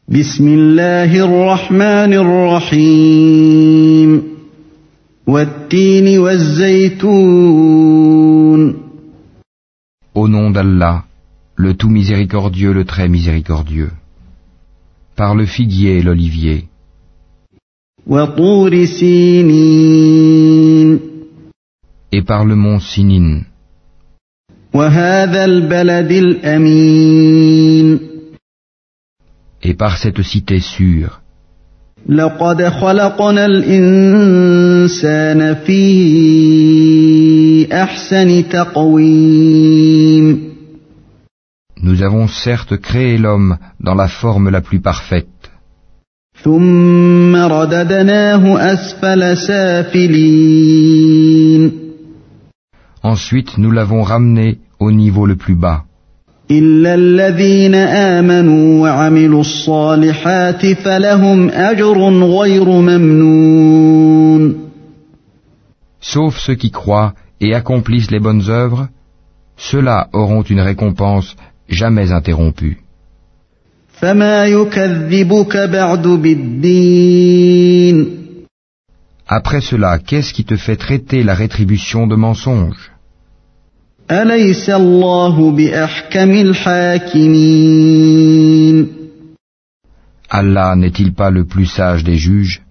بسم الله الرحمن الرحيم والتين والزيتون. Au nom d'Allah, le tout miséricordieux, le très miséricordieux. Par le figuier et l'olivier. وطور سينين. Et par le mont Sinin. وهذا البلد الأمين. Et par cette cité sûre. لقد خلقنا الإنسان في أحسن تقويم. Nous avons certes créé l'homme dans la forme la plus parfaite. ثم رددناه أسفل سافلين. Ensuite, nous l'avons ramené au niveau le plus bas. إلا الذين آمنوا وعملوا الصالحات فلهم أجر غير ممنون. Sauf ceux qui croient et accomplissent les bonnes œuvres, ceux-là auront une récompense jamais interrompue. فما يكذبك بعد بالدين. Après cela, qu'est-ce qui te fait traiter la rétribution de mensonge? أليس الله بأحكم الحاكمين. Allah n'est-il pas le plus sage des juges?